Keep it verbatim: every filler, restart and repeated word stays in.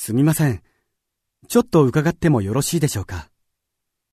すみません。ちょっと伺ってもよろしいでしょうか。